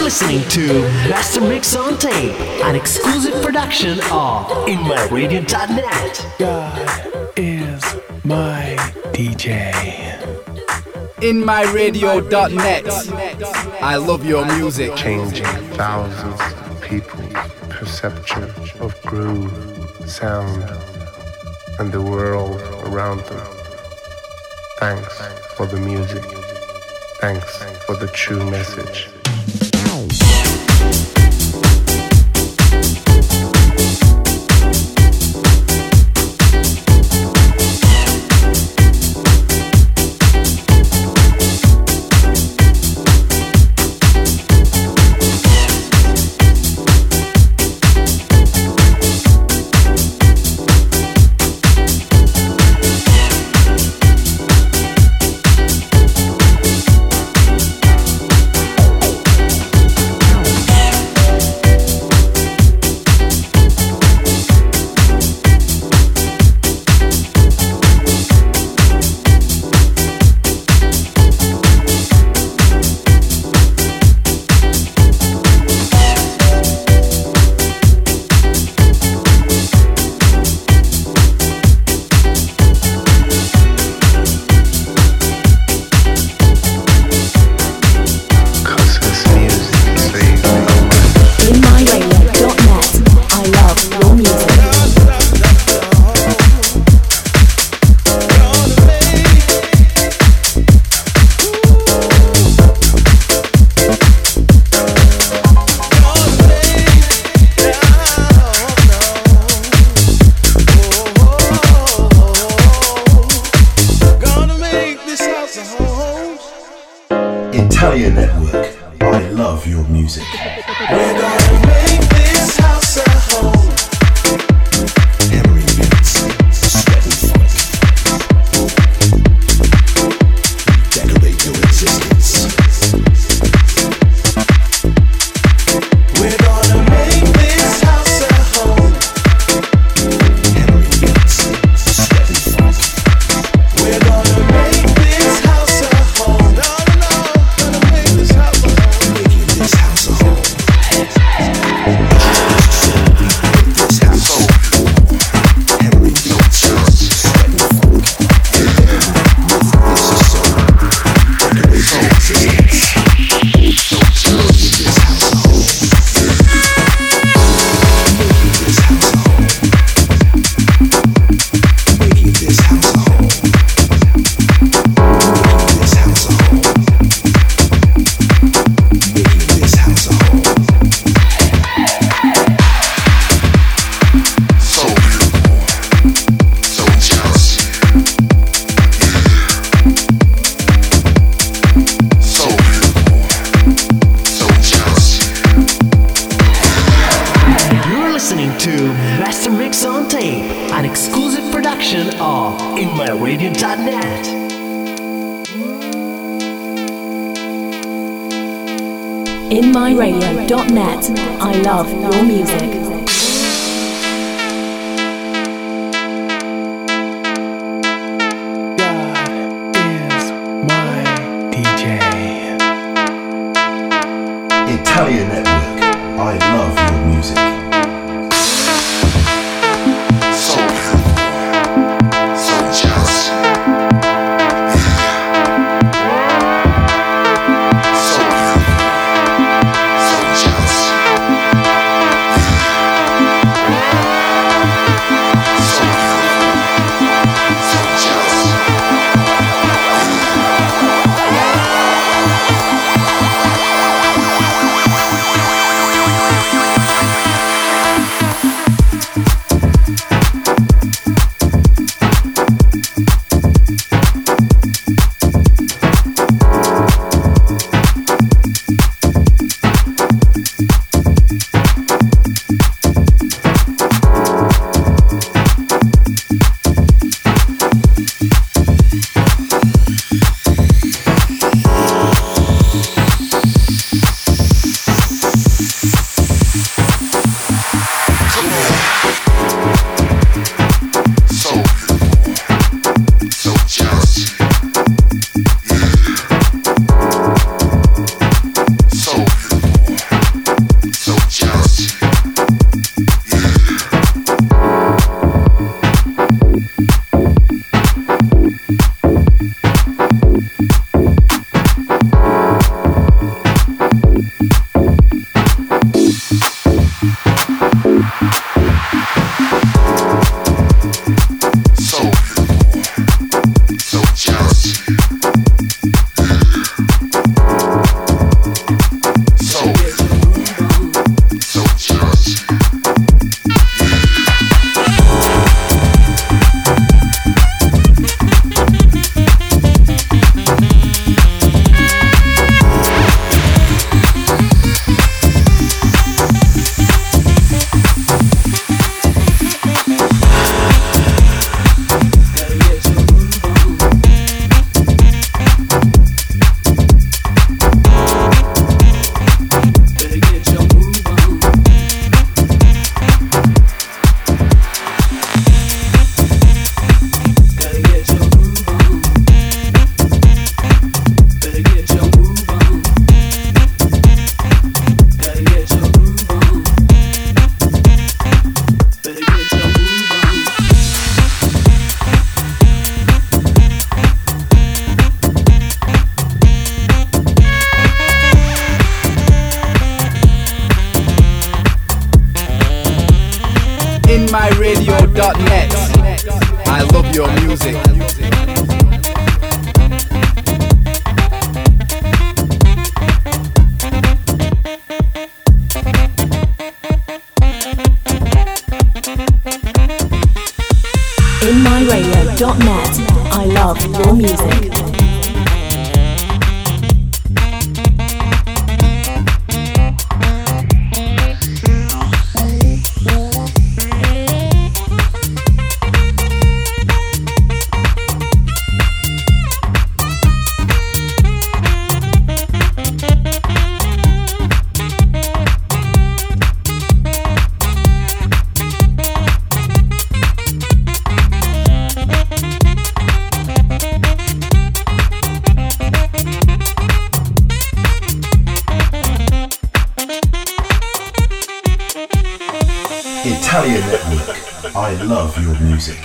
listening to Master Mix on Tape, an exclusive production of InMyRadio.net. God is my DJ. InMyRadio.net. I love your music. Changing thousands of people's perception of groove, sound, and the world around them. Thanks for the music. Thanks for the true message. Italian Network. I love your music. We're gonna make this house a home. Henry Beats, Sweat and Funk. Decorate your existence. We're gonna make this house a home. Henry Beats, Sweat and Funk. We're gonna make this house a home. Gonna make this house a home. Making this house a home. InMyRadio.net. InMyRadio.net. I love your music. Italian Network. I love your music. So beautiful, so just. So beautiful, so just. InMyRadio.net. I love your music. InMyRadio.net. I love your music. Italian Network. I love your music.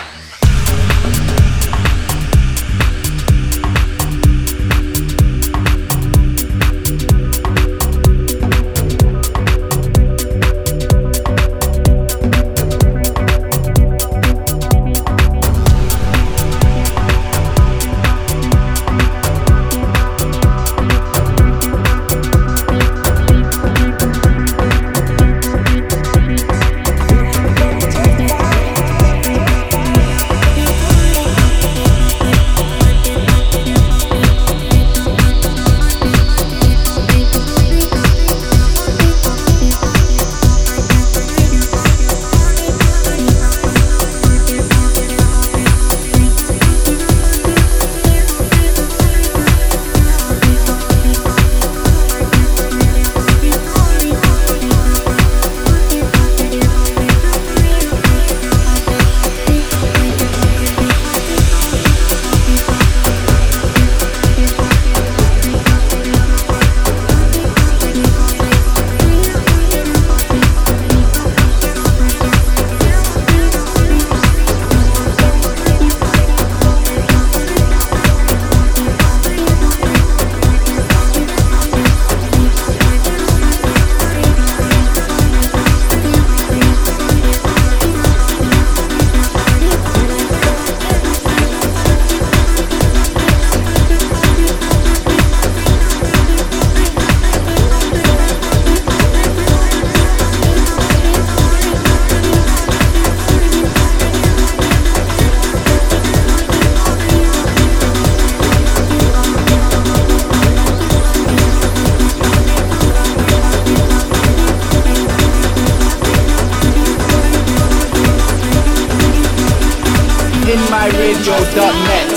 InMyRadio.net.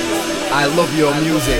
I love your music.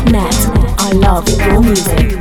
InMyRadio.net. I love your music.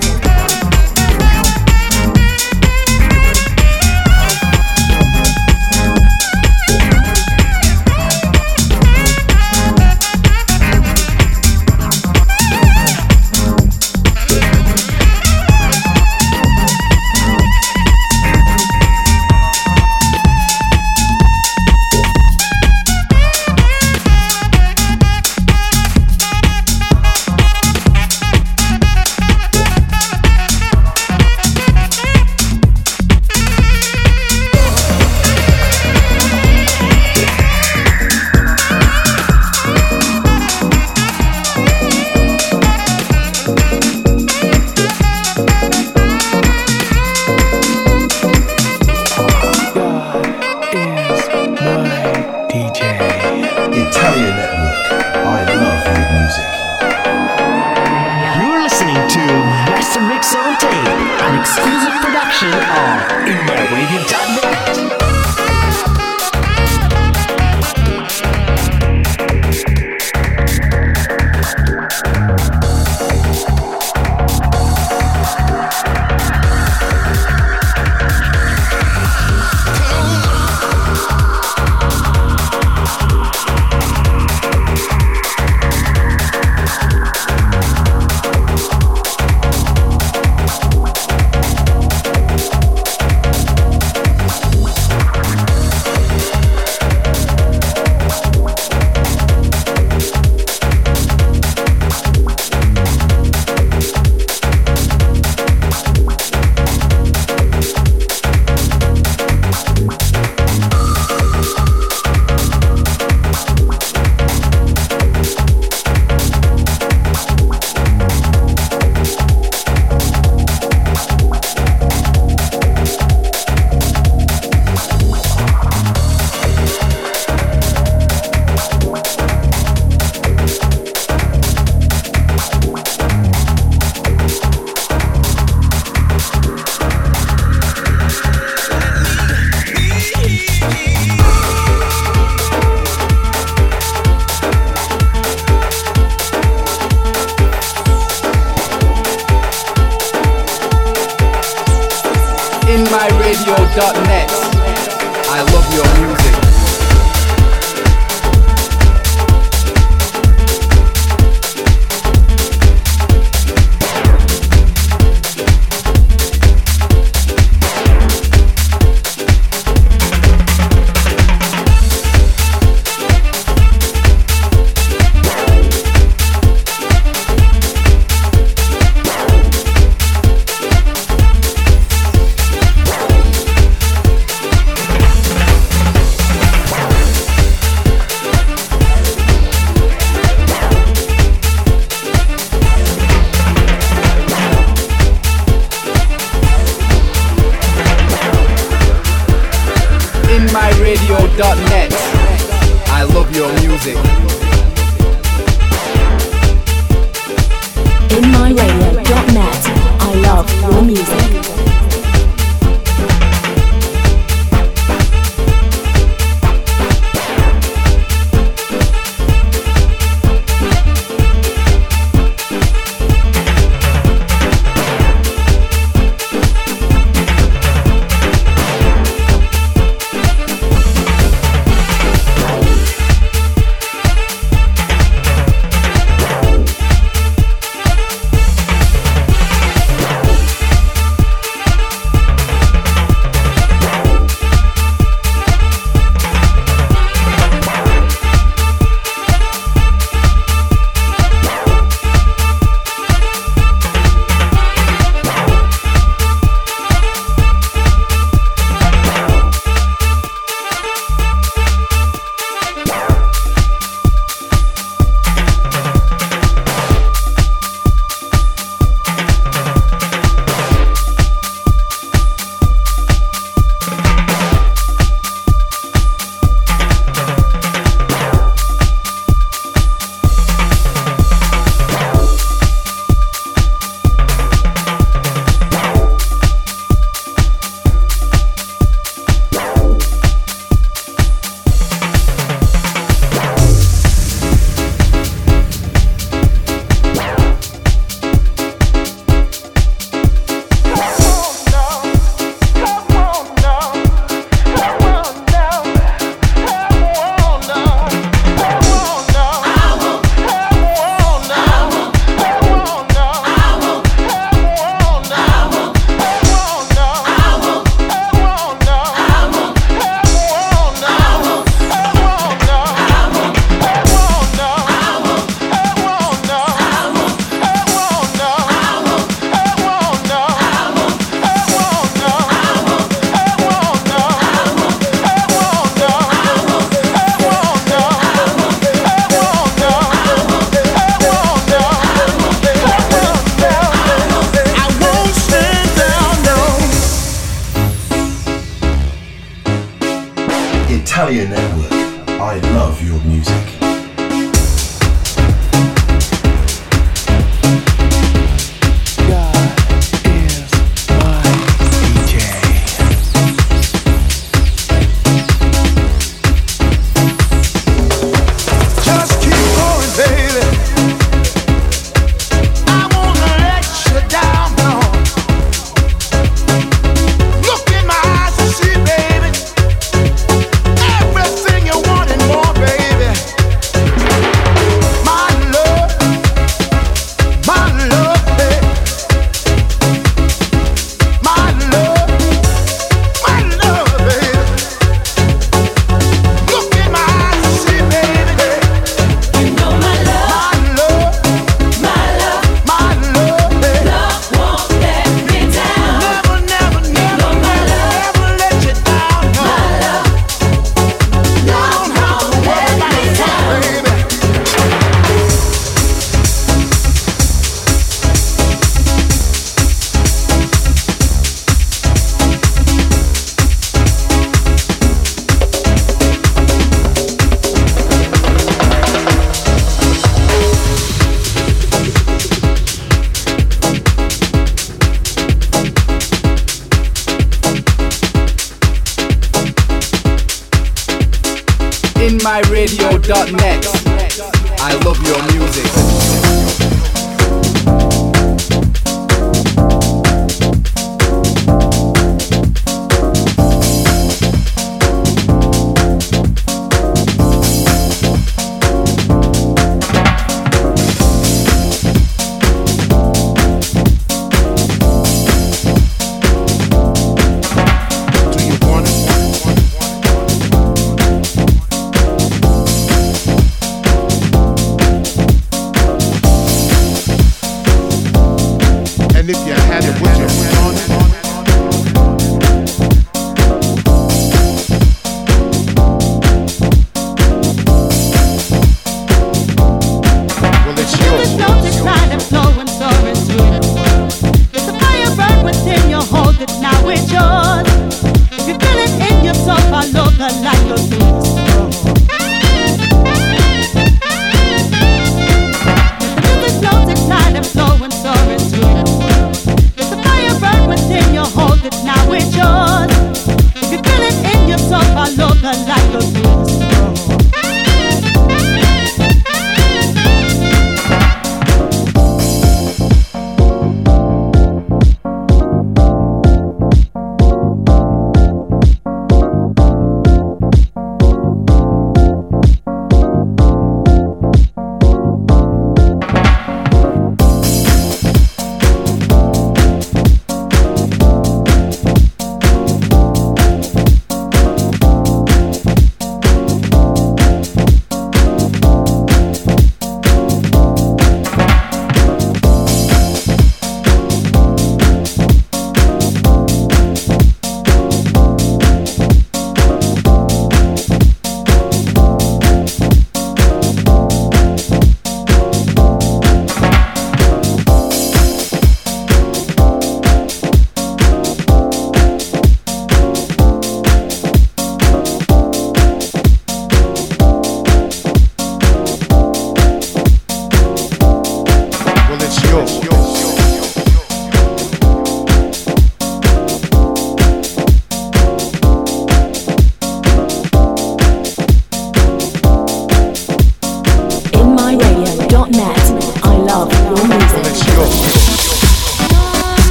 InMyRadio.net. I love your music. InMyRadio.net. I love your music. InMyRadio.net. I love your music. Italia Network. I love your music. InMyRadio.net. I love your music.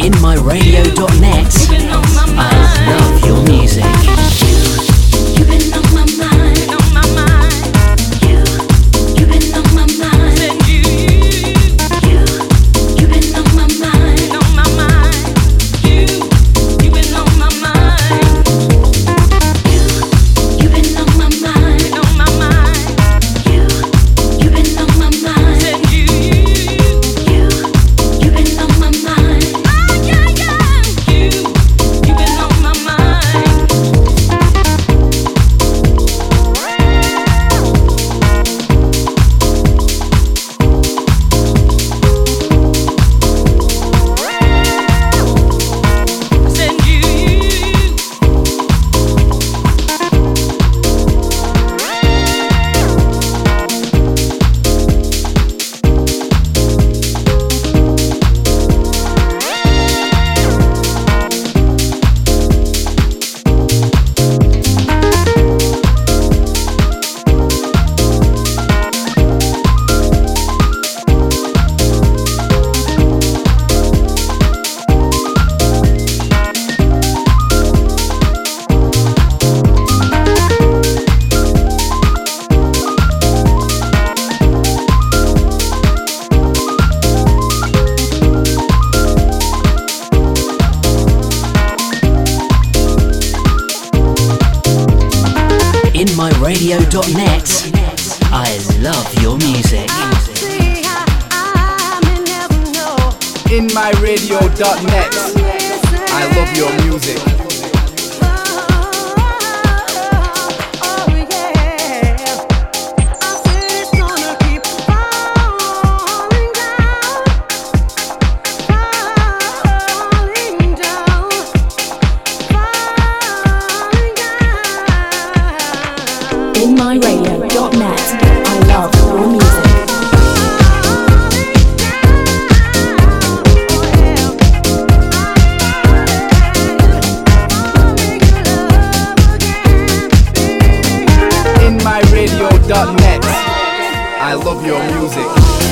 InMyRadio.net. I love your music. You've been on my mind, on my mind. You've been on my mind. You've been on my mind, on my mind. You've been on my mind. You've been on my mind, on my mind. You've been on my mind. You've been on my mind. Oh yeah, yeah. You've been on my mind. Send you. InMyRadio.net. I love your music. InMyRadio.net. I love your music. InMyRadio.net. I love your music. InMyRadio.net. I love your music.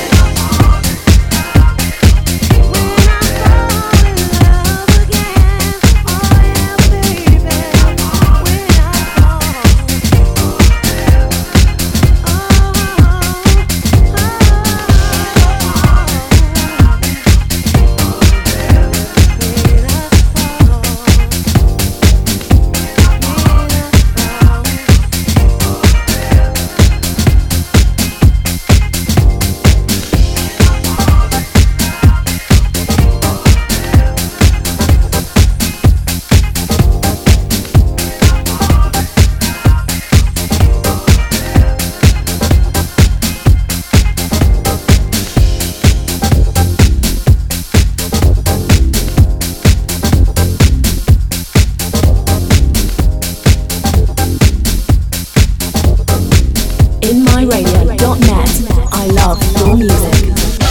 InMyRadio.net. I love your music.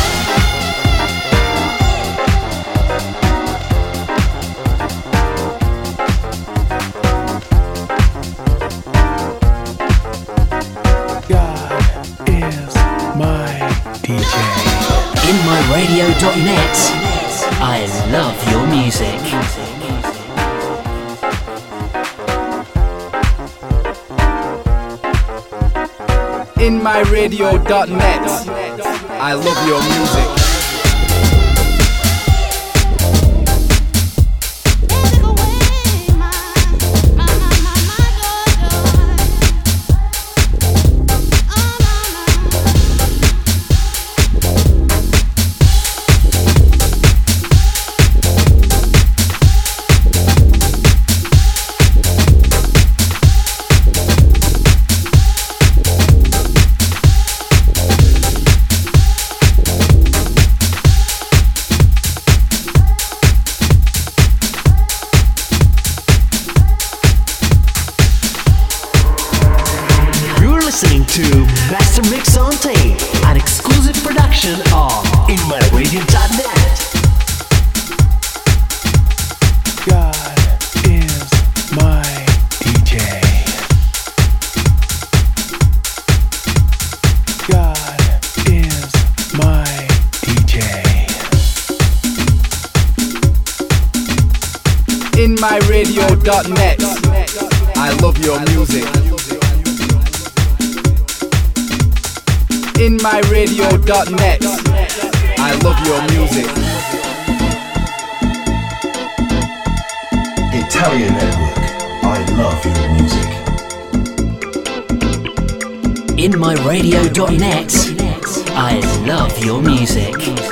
God is my DJ. InMyRadio.net. I love your music. InMyRadio.net. I love your music. Listening to Master Mix on Tape, an exclusive production of InMyRadio.net. God is my DJ. God is my DJ. InMyRadio.net. I love your music. InMyRadio.net. I love your music. Italian Network. I love your music. InMyRadio.net. I love your music.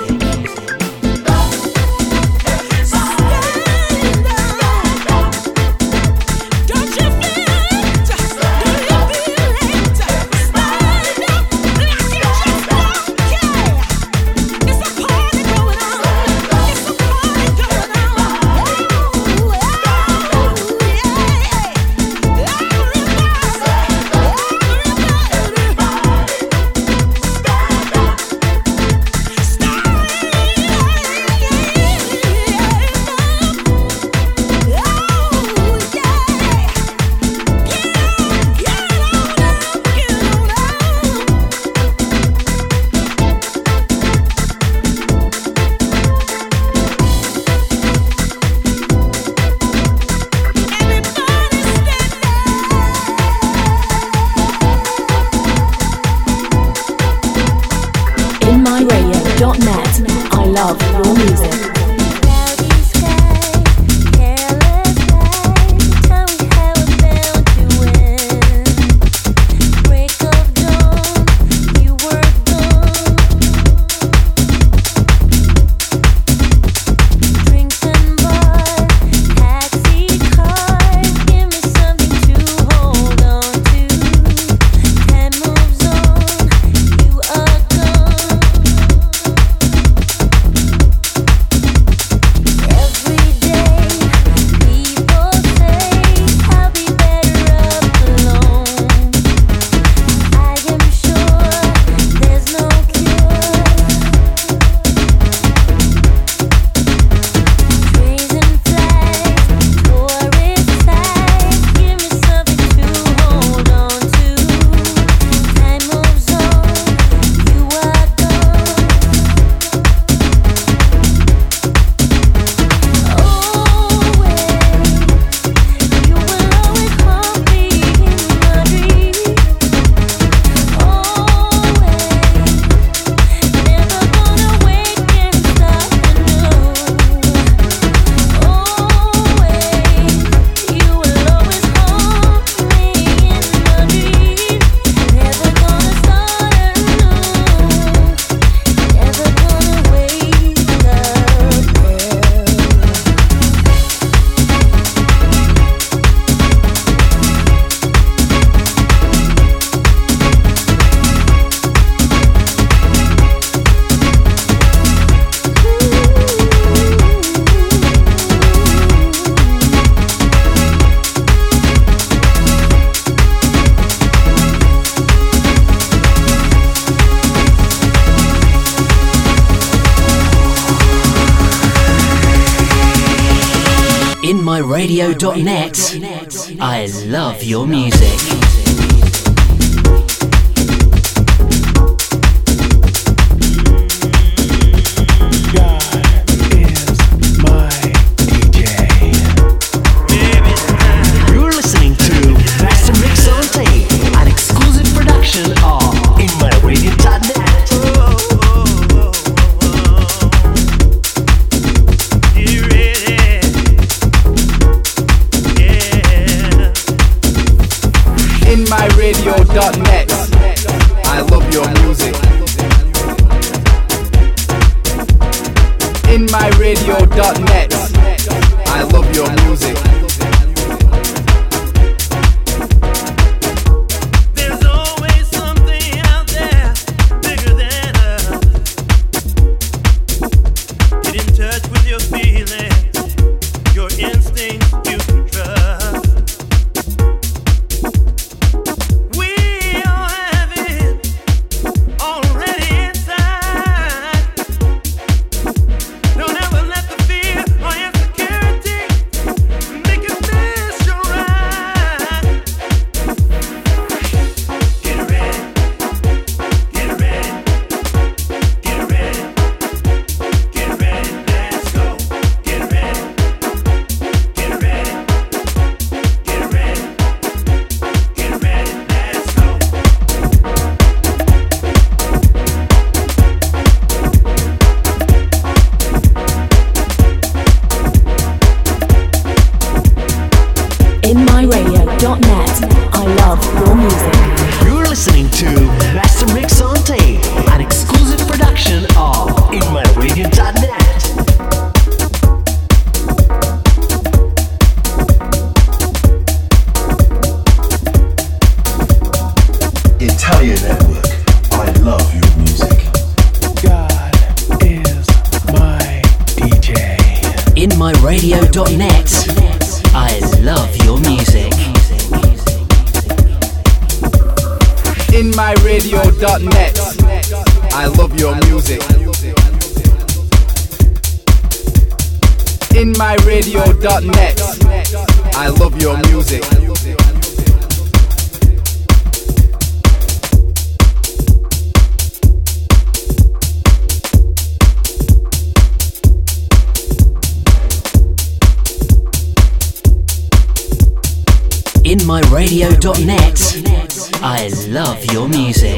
I love your music. InMyRadio.net. I love your music. InMyRadio.net. I love your music. InMyRadio.net. I love your music. There's always something out there bigger than us. Get in touch with your feelings, your instincts you can trust. Make music. You're listening to Master Mix on Tape, an exclusive production of InMyRadio.net. Italian Network. I love your music. God is my DJ. InMyRadio.net. I love your music. InMyRadio.net. I love your music. InMyRadio.net. I love your music. InMyRadio.net. I love your music.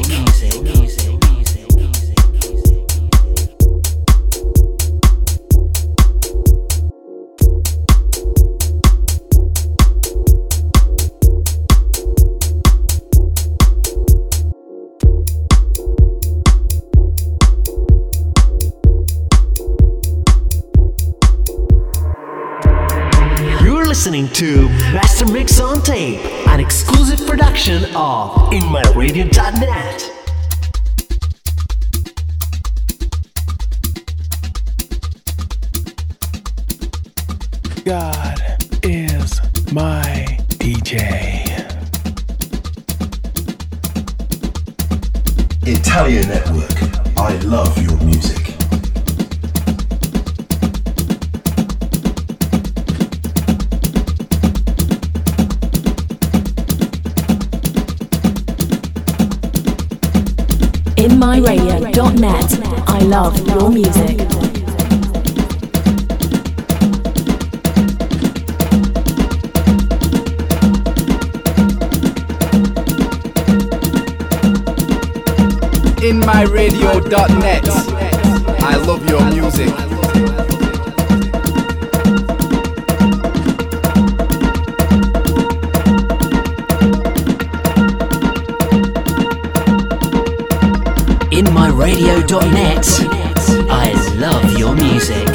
Listening to Master Mix on Tape, an exclusive production of InMyRadio.net. God is my DJ. Italian Network. I love your music. InMyRadio.net. I love your music. InMyRadio.net. I love your music. InMyRadio.net. I love your music.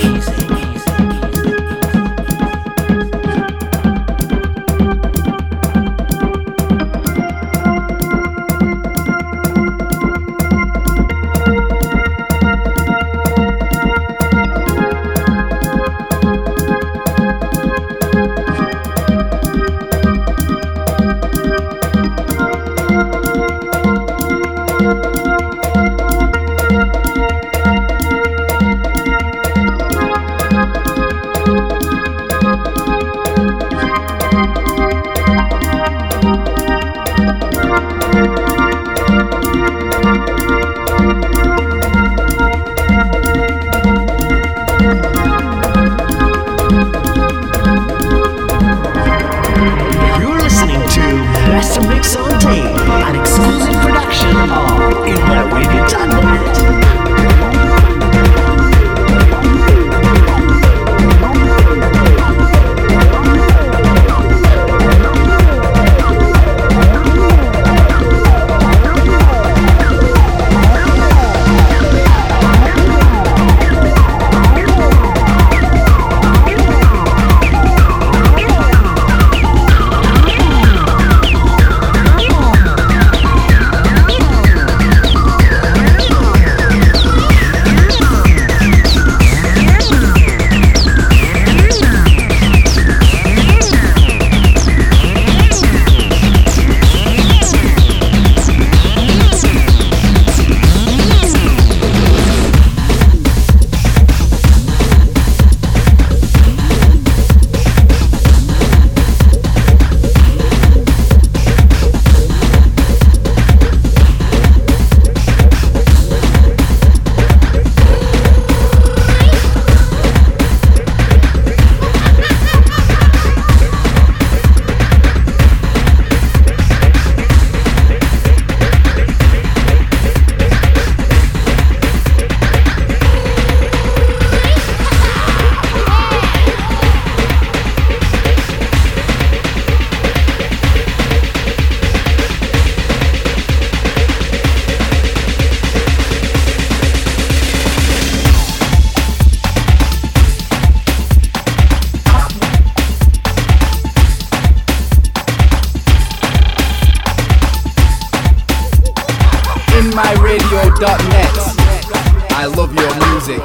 InMyRadio.net. I love your music.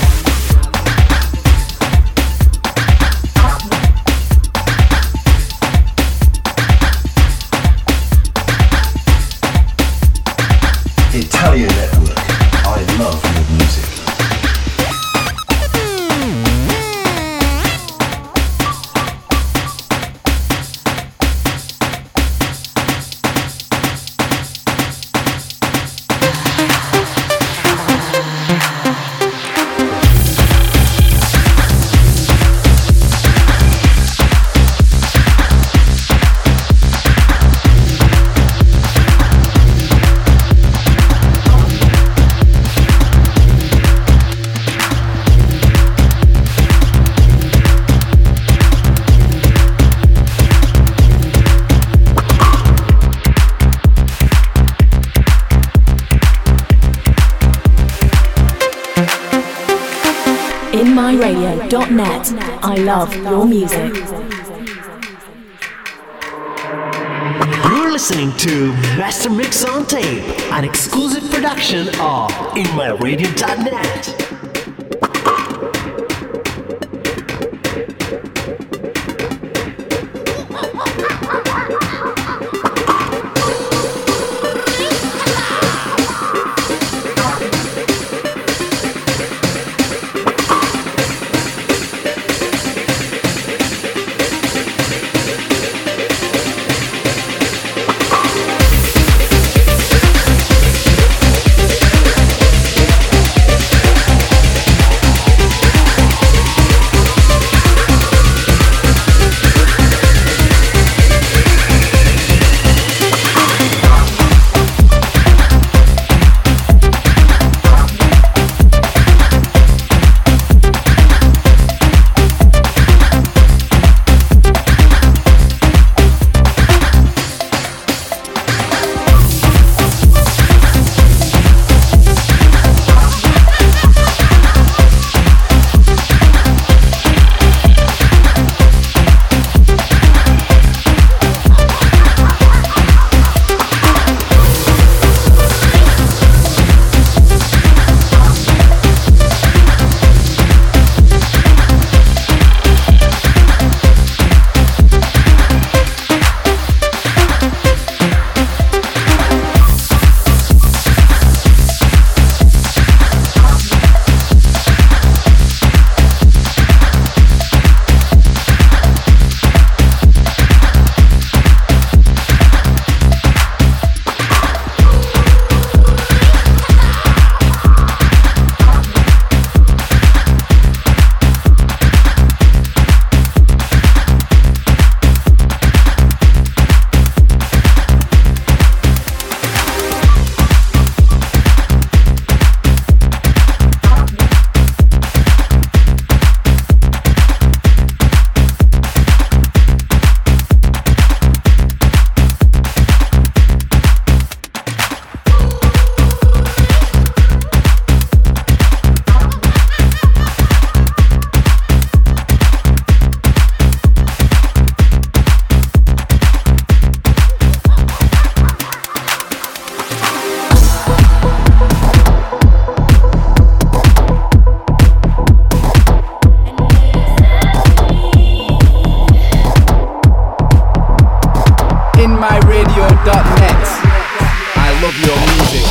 Italian Network. I love your music. InMyRadio.net. I love your music. You're listening to Master Mix on Tape, an exclusive production of InMyRadio.net. InMyRadio.net. I love your music.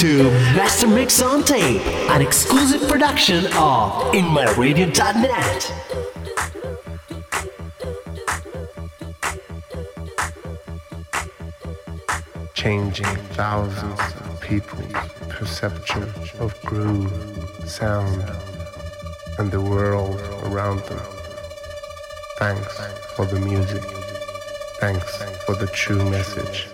to Master Mix on Tape, an exclusive production of InMyRadio.net. Changing thousands of people's perception of groove, sound, and the world around them. Thanks for the music. Thanks for the true message.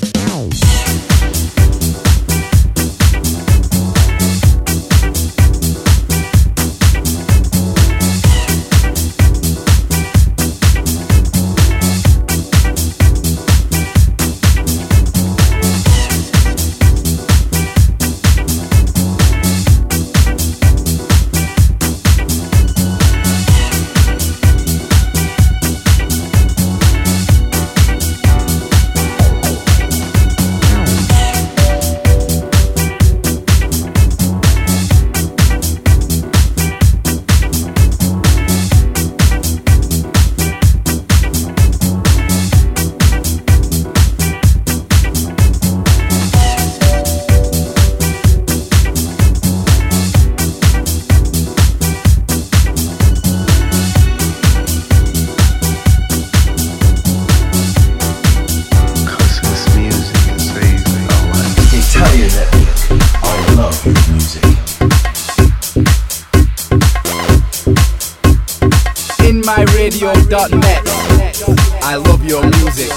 InMyRadio.net. I love your music.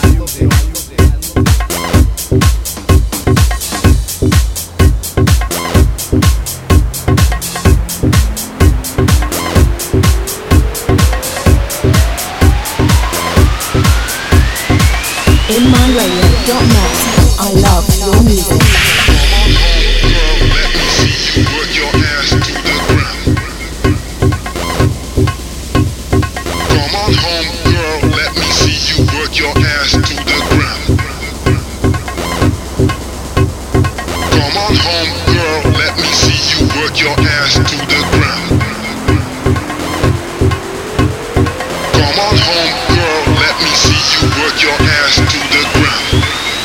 InMyRadio.net. I love your music. Let me see you work your ass to the ground. Come on home, girl, let me see you work your ass to the ground. Come on home, girl, let me see you work your ass to the ground. Come on home, girl, let me see you work your ass to the ground.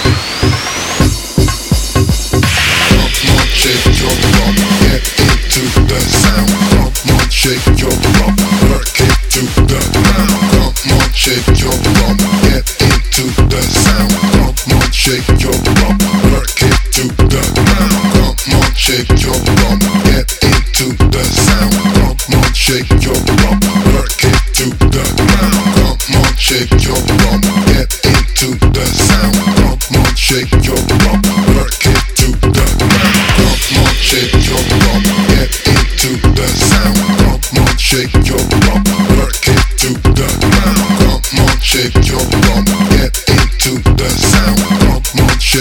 Come on, shake your bum, get into the sound. Come on, shake your bum, work it to the ground. Come on, shake your bum, get into the sound. Come on, shake your bum, work it to the ground. Come on, shake your bum, get into the sound. Come on, shake your bum, work it to the ground. Come on, shake your bum, get into the sound. Come on, shake your bum, work it to the ground. Come on, shake your bum, get into the sound. Come on, shake your bum, work it to the ground. Come on, shake your bum, get into the sound. Come on,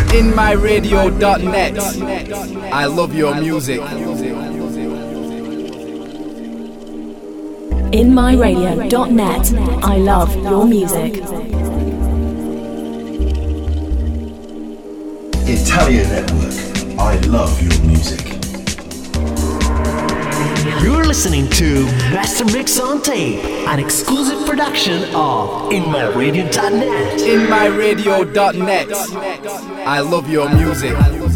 InMyRadio.net. I love your music. InMyRadio.net. I love your music. Italian Network. I love your music. You're listening to Master Mix on Tape, an exclusive production of InMyRadio.net. InMyRadio.net. I love your music.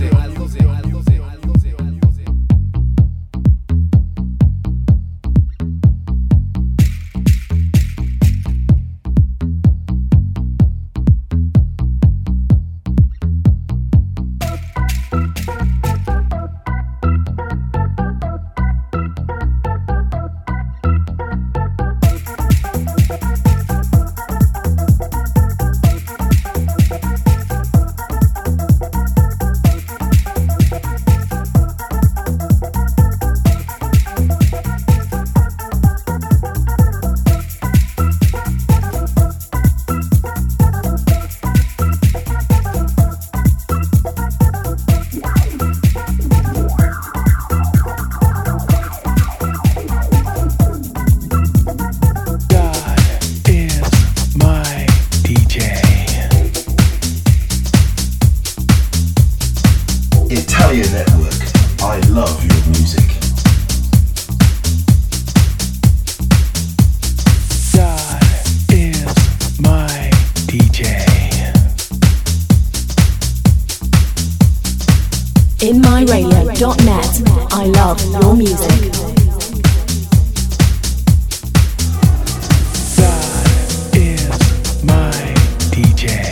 Italian Network. I love your music. God is my DJ. InMyRadio.net. I love your music. God is my DJ.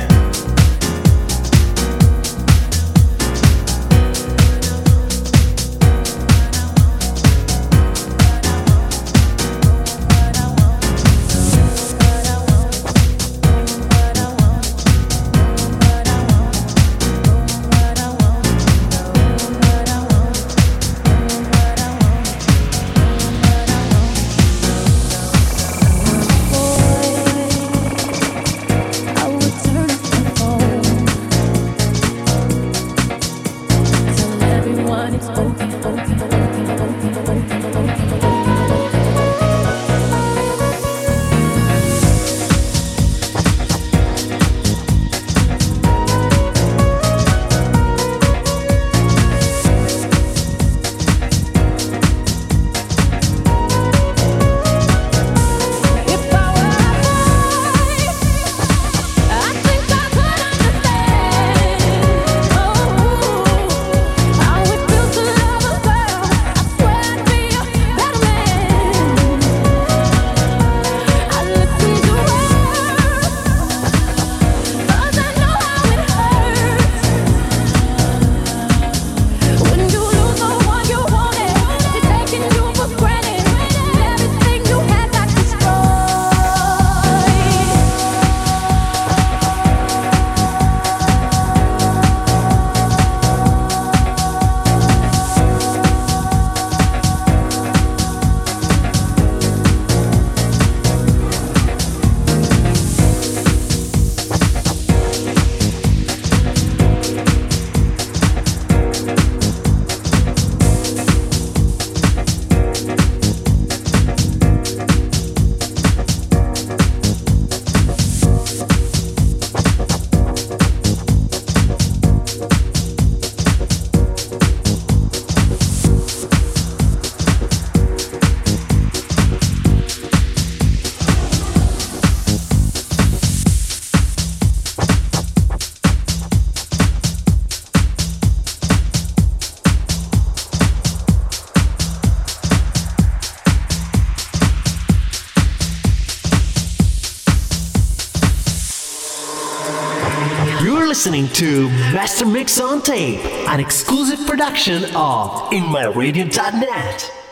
Listening to Master Mix on Tape, an exclusive production of InMyRadio.net.